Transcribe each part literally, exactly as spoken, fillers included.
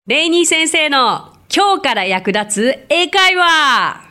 レイニー先生の今日から役立つ英会話。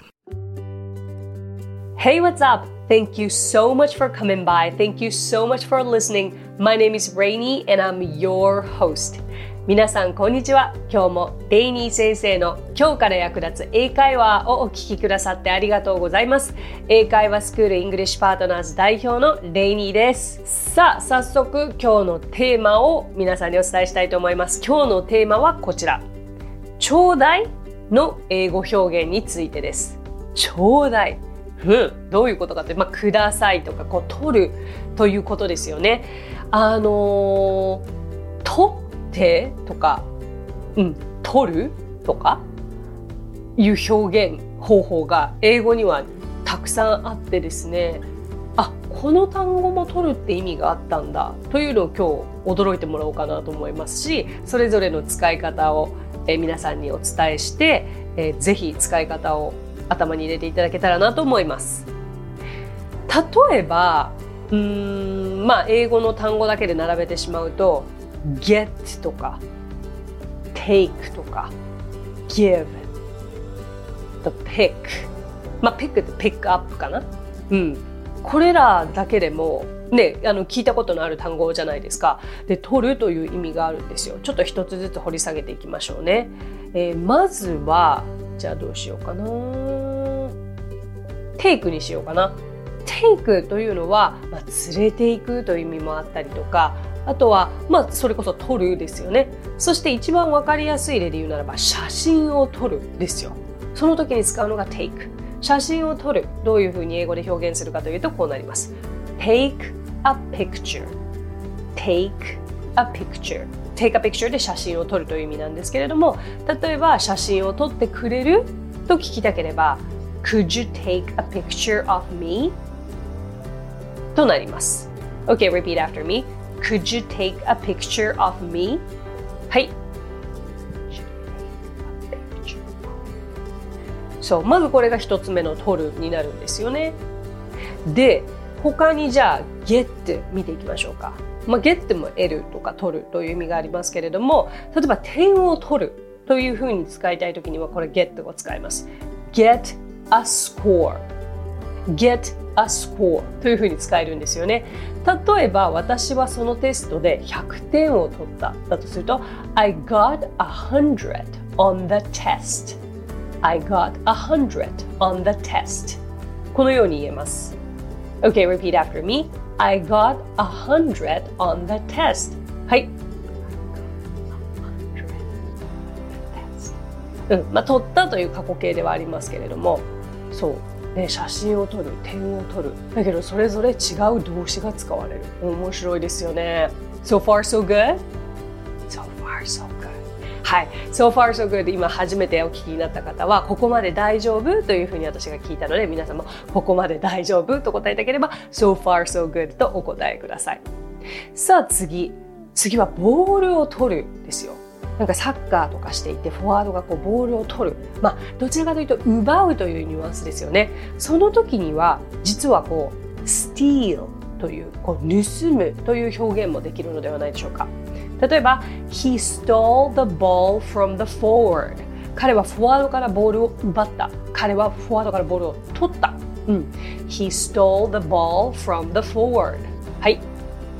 Hey, what's up? Thank you so much for coming by. Thank you so much for listening. My name is Rainy and I'm your host. 皆さんこんにちは。今日もレイニー先生の今日から役立つ英会話をお聞きくださってありがとうございます。英会話スクールイングリッシュパートナーズ代表のレイニーです。さあ、早速今日のテーマを皆さんにお伝えしたいと思います。今日のテーマはこちら。ちょうだいの英語表現についてです。ちょうだい。うん、どういうことかというと、まあ、くださいとかこう取るということですよね。あのー、取ってとか、うん、取るとかいう表現方法が英語にはたくさんあってですね、あ、この単語も取るって意味があったんだというのを今日驚いてもらおうかなと思いますし、それぞれの使い方を、えー、皆さんにお伝えして、えー、ぜひ使い方を頭に入れていただけたらなと思います。例えば、うーん、まあ英語の単語だけで並べてしまうと get とか take とか give the pick、まあ pick って pick up かな、うん、これらだけでもね、あの聞いたことのある単語じゃないですか。で、取るという意味があるんですよ。ちょっと一つずつ掘り下げていきましょうね。えー、まずはじゃあどうしようかな。テイクにしようかな。テイクというのは、まあ、連れていくという意味もあったりとか、あとは、まあ、それこそ撮るですよね。そして一番わかりやすい例で言うならば、写真を撮るですよ。その時に使うのがテイク。写真を撮る。どういうふうに英語で表現するかというと、こうなります。Take a picture. Take a picture.Take a picture で写真を撮るという意味なんですけれども、例えば写真を撮ってくれると聞きたければ Could you take a picture of me? となります。 OK, repeat after me. Could you take a picture of me? はい。そう、まずこれが一つ目の撮るになるんですよね。で、他にじゃあ get 見ていきましょうか。まあ、get も得るとか取るという意味がありますけれども、例えば点を取るというふうに使いたいときにはこれ get を使います。get a score get a score というふうに使えるんですよね。例えば私はそのテストでひゃくてんを取っただとすると I got a hundred on the test I got a hundred on the test このように言えます。 OK, repeat after me.I got a hundred on the test. はい。うん、まあ、取ったという過去形ではありますけれども、そう、ね、写真を撮る、点を撮る。だけどそれぞれ違う動詞が使われる。面白いですよね。So far so good? So far so good. はい。So far so good 今初めてお聞きになった方はここまで大丈夫というふうに私が聞いたので、皆さんもここまで大丈夫と答えたければ So far so good とお答えください。さあ次。次はボールを取るですよ。なんかサッカーとかしていてフォワードがこうボールを取る。まあどちらかというと奪うというニュアンスですよね。その時には実はこう steal という、こう盗むという表現もできるのではないでしょうか。例えば He stole the ball from the forward 彼はフォワードからボールを奪った。彼はフォワードからボールを取った、うん、He stole the ball from the forward はい。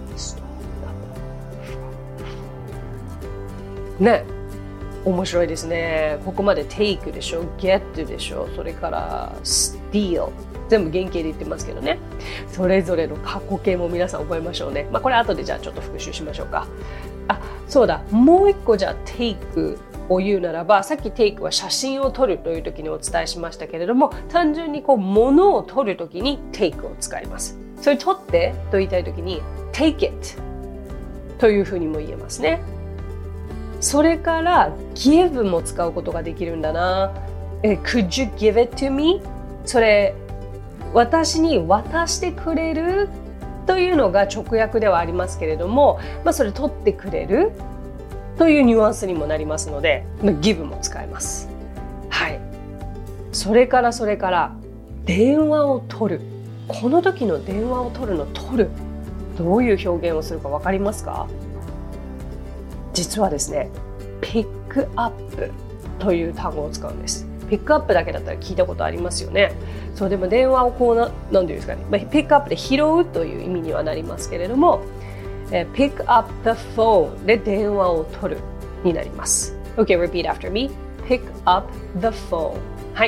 ね、面白いですね。ここまで take でしょ、get でしょ、それから steal全部原型で言ってますけどね。それぞれの過去形も皆さん覚えましょうね。まあこれ後でじゃあちょっと復習しましょうか。あ、そうだ。もう一個じゃあ take を言うならば、さっき take は写真を撮るという時にお伝えしましたけれども、単純にこう物を撮る時に take を使います。それ撮ってと言いたい時に take it というふうにも言えますね。それから give も使うことができるんだな。え、could you give it to me? それ私に渡してくれるというのが直訳ではありますけれども、まあ、それ取ってくれるというニュアンスにもなりますので、まあ、give も使えます。はい。それからそれから電話を取る。この時の電話を取るの取る。どういう表現をするかわかりますか？実はですね、pick クアップという単語を使うんです。ピックアップだけだったら聞いたことありますよね。そうでも電話をこうな、なんていうんですかね、まあ、ピックアップで拾うという意味にはなりますけれども、えー、pick up the phone で電話を取るになります。Okay, repeat after me. Pick up the phone. はい。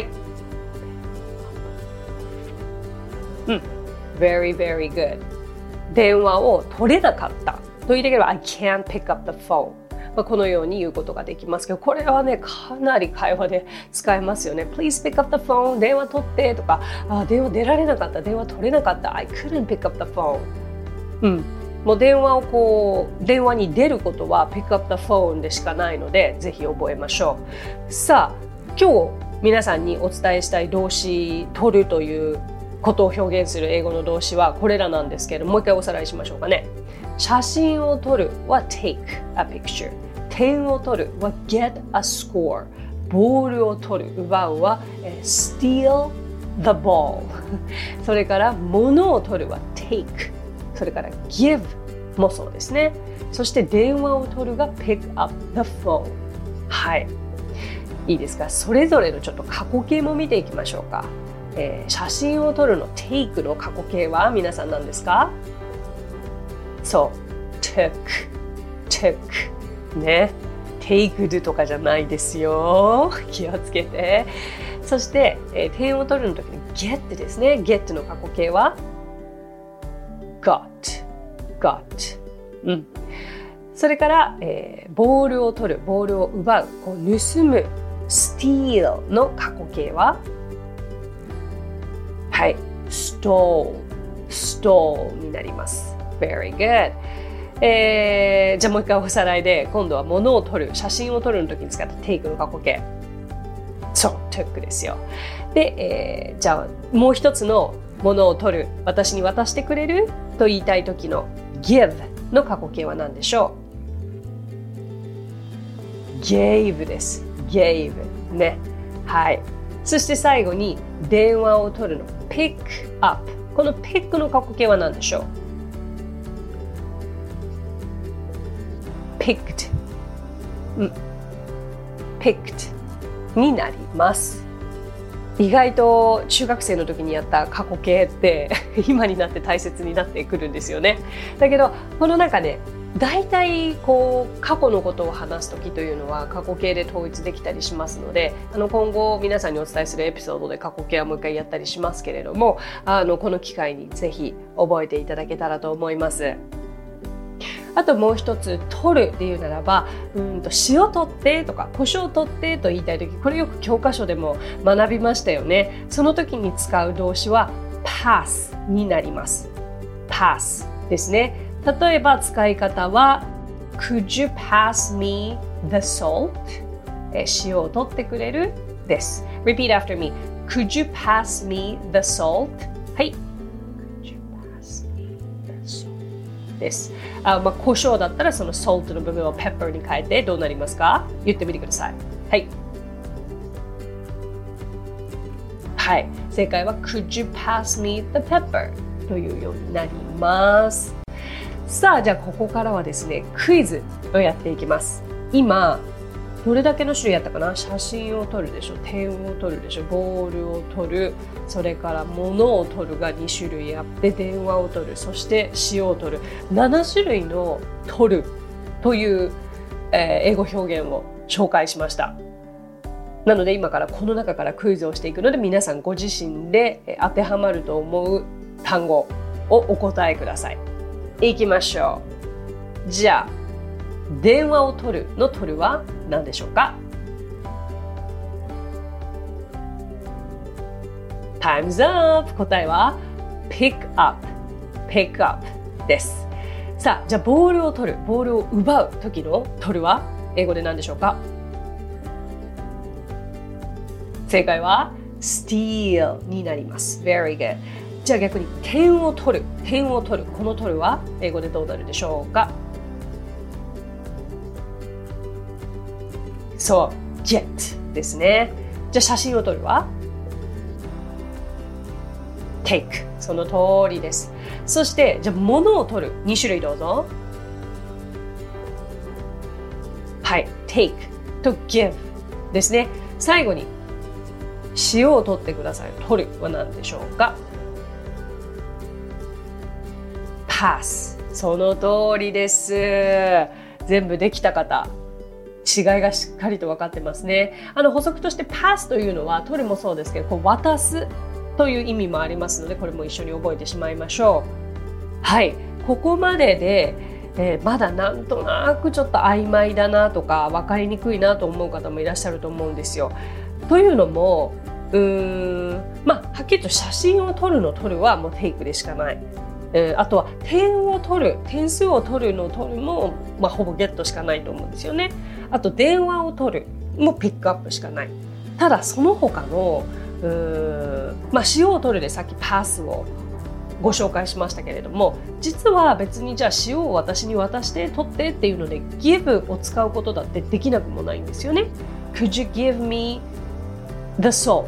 うん。Very, very good. 電話を取れなかったと言いたければ I can't pick up the phone。まあ、このように言うことができますけど、これはね、かなり会話で使えますよね。Please pick up the phone. 電話取ってとか、あ、電話出られなかった、電話取れなかった。I couldn't pick up the phone。うん。もう電話をこう、電話に出ることは pick up the phone でしかないので、ぜひ覚えましょう。さあ、今日皆さんにお伝えしたい動詞、取るということを表現する英語の動詞はこれらなんですけれども、もう一回おさらいしましょうかね。写真を撮るは take a picture。点を取るは get a score。ボールを取る、奪うは steal the ball。それから物を取るは take。それから give もそうですね。そして電話を取るが pick up the phone。はい。いいですか。それぞれのちょっと過去形も見ていきましょうか。えー、写真を撮るの take の過去形は皆さん何ですか？そう、took、took ね、taked とかじゃないですよ。気をつけて。そして、えー、点を取るの時に get ですね。get の過去形は got、got。うん。それから、えー、ボールを取る、ボールを奪う、こう盗む steal の過去形ははい、stole、stole になります。Very good。えー、じゃあもう一回おさらいで、今度は物を撮る、写真を撮るの時に使った take の過去形。そう、took ですよ。で、えー、じゃあもう一つの物を撮る、私に渡してくれると言いたい時の give の過去形は何でしょう？ gave です。gave ね。はい。そして最後に電話を取るの pick up。この pick の過去形は何でしょう？ picked、うん、picked になります。意外と中学生の時にやった過去形って今になって大切になってくるんですよね。だけどこの中で大体こう過去のことを話す時というのは過去形で統一できたりしますので、あの今後皆さんにお伝えするエピソードで過去形はもう一回やったりしますけれども、あのこの機会にぜひ覚えていただけたらと思います。あともう一つ、取るっていうならば、うんと塩取ってとか胡椒取ってと言いたい時、これよく教科書でも学びましたよね。その時に使う動詞は pass になります。pass ですね。例えば使い方は Could you pass me the salt? え塩を取ってくれるです。Repeat after me. Could you pass me the salt? はい。Could you pass me the salt? です。あ、まあ、胡椒だったらその salt の部分を pepper に変えてどうなりますか？言ってみてください。はい。はい。正解は Could you pass me the pepper? というようになります。さあ、じゃあここからはですね、クイズをやっていきます。今、どれだけの種類やったかな？写真を撮るでしょ、点を撮るでしょ、ボールを撮る、それから物を撮るがに種類あって、電話を撮る、そして塩を撮る、なな種類の撮るという、えー、英語表現を紹介しました。なので今からこの中からクイズをしていくので、皆さんご自身で当てはまると思う単語をお答えください。いきましょう。じゃあ、電話を取るの取るは何でしょうか？ Time's up! 答えは pick up, pick up です。さあ、じゃあボールを取る、ボールを奪う時の取るは英語で何でしょうか？正解は steal になります。Very good。じゃあ逆に点を取る、点を取る、この取るは英語でどうなるでしょうか？そう、get ですね。じゃあ写真を撮るは take。その通りです。そして、じゃあ物を撮る、に種類どうぞ。はい、take。 to give ですね。最後に塩を取ってください。取るは何でしょうか？ pass。 その通りです。全部できた方、違いがしっかりと分かってますね。あの補足として pass というのは取るもそうですけど、こう渡すという意味もありますので、これも一緒に覚えてしまいましょう。はい、ここまでで、えー、まだなんとなくちょっと曖昧だなとか分かりにくいなと思う方もいらっしゃると思うんですよ。というのもうーんまあはっきりと写真を撮るの撮るはもうテイクでしかない。えー、あとは点を取る、点数を取るの取るも、まあ、ほぼゲットしかないと思うんですよね。あと電話を取るもピックアップしかない。ただその他のうーん、まあ、塩を取るでさっきパスをご紹介しましたけれども、実は別にじゃあ塩を私に渡して取ってっていうので give を使うことだってできなくもないんですよね。Could you give me the salt?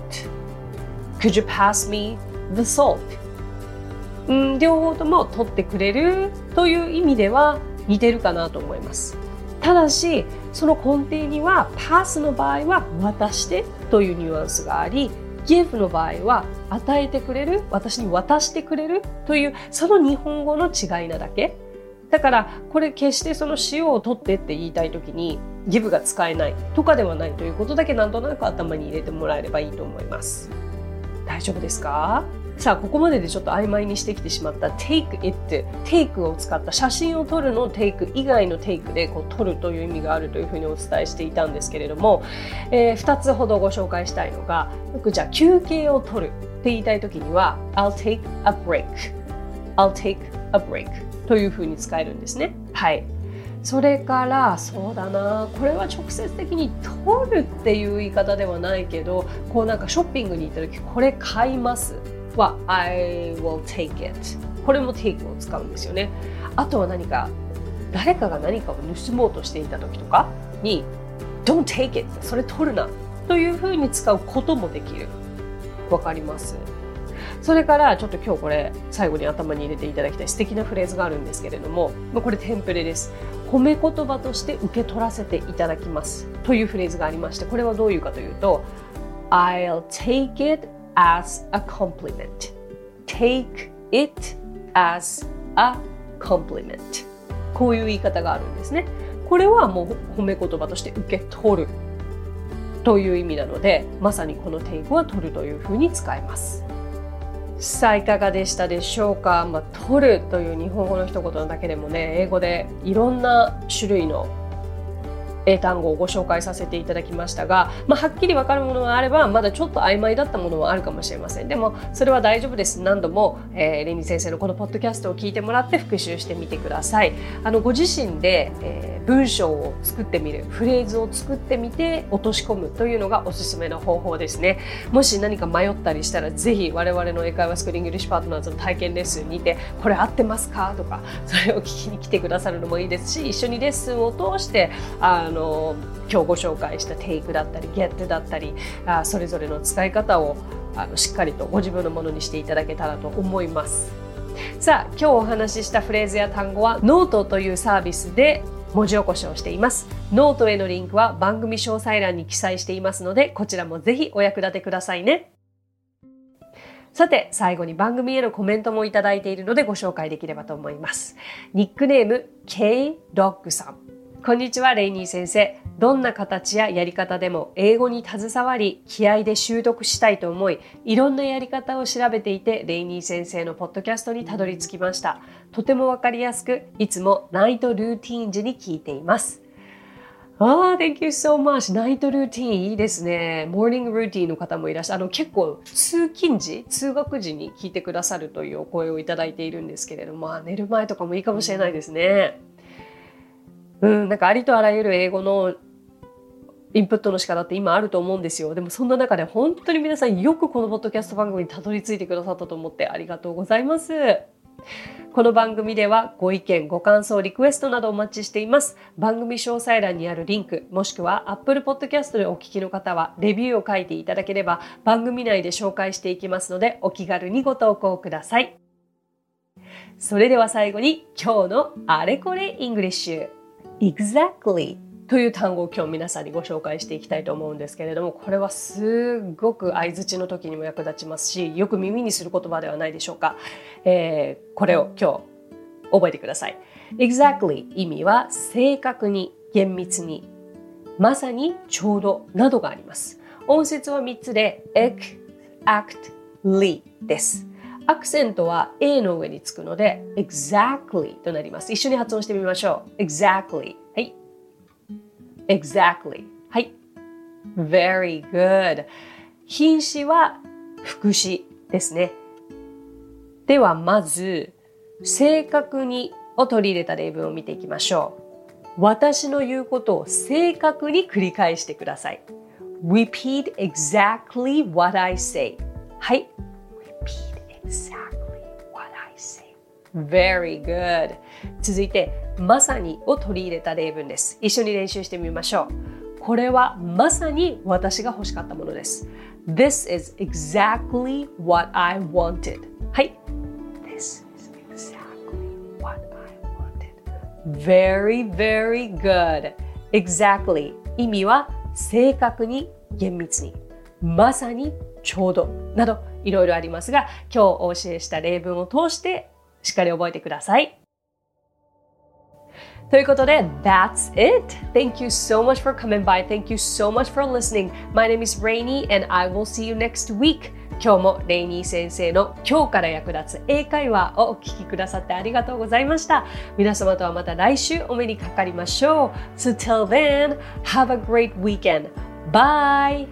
Could you pass me the salt?うん、両方とも取ってくれるという意味では似てるかなと思います。ただしその根底にはパスの場合は渡してというニュアンスがあり、give の場合は与えてくれる、私に渡してくれるというその日本語の違いなだけ。だからこれ決してその塩を取ってって言いたいときに give が使えないとかではないということだけなんとなく頭に入れてもらえればいいと思います。大丈夫ですか？さあここまででちょっと曖昧にしてきてしまった take it、 take を使った写真を撮るの take 以外の take でこう撮るという意味があるというふうにお伝えしていたんですけれども、えー、ふたつほどご紹介したいのが、よくじゃあ休憩を取るって言いたいときには I'll take a break I'll take a break というふうに使えるんですね。はい。それからそうだな、これは直接的に取るっていう言い方ではないけど、こうなんかショッピングに行った時これ買いますは I will take it。 これも take を使うんですよね。あとは何か誰かが何かを盗もうとしていた時とかに Don't take it、 それ取るなというふうに使うこともできる。わかります？それからちょっと今日これ最後に頭に入れていただきたい素敵なフレーズがあるんですけれども、これテンプレです。褒め言葉として受け取らせていただきますというフレーズがありまして、これはどういうかというと I'll take it as a compliment。 take it as a compliment、 こういう言い方があるんですね。これはもう褒め言葉として受け取るという意味なので、まさにこの take は取るというふうに使えます。さあいかがでしたでしょうか？まあ、取るという日本語の一言だけでもね、英語でいろんな種類の英単語をご紹介させていただきましたが、まあ、はっきり分かるものがあればまだちょっと曖昧だったものはあるかもしれません。でもそれは大丈夫です。何度も、えー、レニー先生のこのポッドキャストを聞いてもらって復習してみてください。あのご自身で、えー、文章を作ってみる、フレーズを作ってみて落とし込むというのがおすすめの方法ですね。もし何か迷ったりしたらぜひ我々の英会話スクールイングリッシュパートナーズの体験レッスンにてこれ合ってますかとか、それを聞きに来てくださるのもいいですし、一緒にレッスンを通してあの今日ご紹介した take だったり get だったり、あそれぞれの使い方をあのしっかりとご自分のものにしていただけたらと思います。さあ今日お話ししたフレーズや単語はノートというサービスで文字起こしをしています。ノートへのリンクは番組詳細欄に記載していますので、こちらもぜひお役立てくださいね。さて最後に番組へのコメントもいただいているのでご紹介できればと思います。ニックネーム K ドッグさん、こんにちはレイニー先生。どんな形ややり方でも英語に携わり気合で習得したいと思い、いろんなやり方を調べていてレイニー先生のポッドキャストにたどり着きました。とてもわかりやすく、いつもナイトルーティーン時に聞いています。ああ、Thank you so much。 ナイトルーティーンいいですね。モーニングルーティーンの方もいらっしゃる。あの結構通勤時、通学時に聞いてくださるというお声をいただいているんですけれども、寝る前とかもいいかもしれないですね。うん、なんかありとあらゆる英語のインプットの仕方って今あると思うんですよ。でもそんな中で本当に皆さんよくこのポッドキャスト番組にたどり着いてくださったと思ってありがとうございます。この番組ではご意見、ご感想、リクエストなどお待ちしています。番組詳細欄にあるリンク、もしくは Apple Podcast でお聞きの方はレビューを書いていただければ番組内で紹介していきますので、お気軽にご投稿ください。それでは最後に今日のあれこれイングリッシュ。Exactly という単語を今日皆さんにご紹介していきたいと思うんですけれども、これはすごく相槌の時にも役立ちますし、よく耳にする言葉ではないでしょうか。えー、これを今日覚えてください。Exactly 意味は正確に、厳密に、まさに、ちょうどなどがあります。音節はみっつで exactly です。アクセントは A の上につくので exactly となります。一緒に発音してみましょう。exactly。はい。exactly。はい。very good。品詞は副詞ですね。ではまず、正確にを取り入れた例文を見ていきましょう。私の言うことを正確に繰り返してください。Repeat exactly what I say。はい。Repeat exactly what I say。Very good。続いて、まさにを取り入れた例文です。一緒に練習してみましょう。これはまさに私が欲しかったものです。This is exactly what I wanted。はい。This is exactly what I wanted。Very, very good。Exactly。意味は正確に、厳密に、まさに、ちょうどなどいろいろありますが、今日お教えした例文を通してしっかり覚えてください。ということで、That's it! Thank you so much for coming by. Thank you so much for listening. My name is Rainy and I will see you next week. 今日もレイニー先生の今日から役立つ英会話をお聞きくださってありがとうございました。皆様とはまた来週お目にかかりましょう。So till then, have a great weekend. Bye!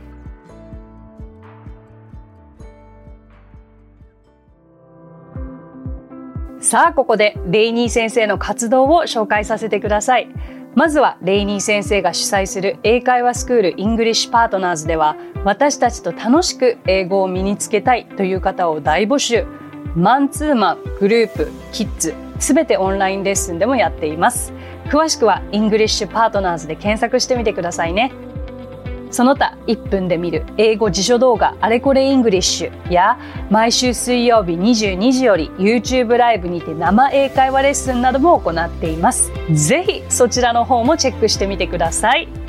さあ、ここでレイニー先生の活動を紹介させてください。まずはレイニー先生が主催する英会話スクール English Partners では、私たちと楽しく英語を身につけたいという方を大募集。マンツーマン、グループ、キッズ、すべてオンラインレッスンでもやっています。詳しくは English Partners で検索してみてくださいね。その他いっぷんで見る英語辞書動画あれこれイングリッシュや毎週水曜日にじゅうにじより YouTube ライブにて生英会話レッスンなども行っています。ぜひそちらの方もチェックしてみてください。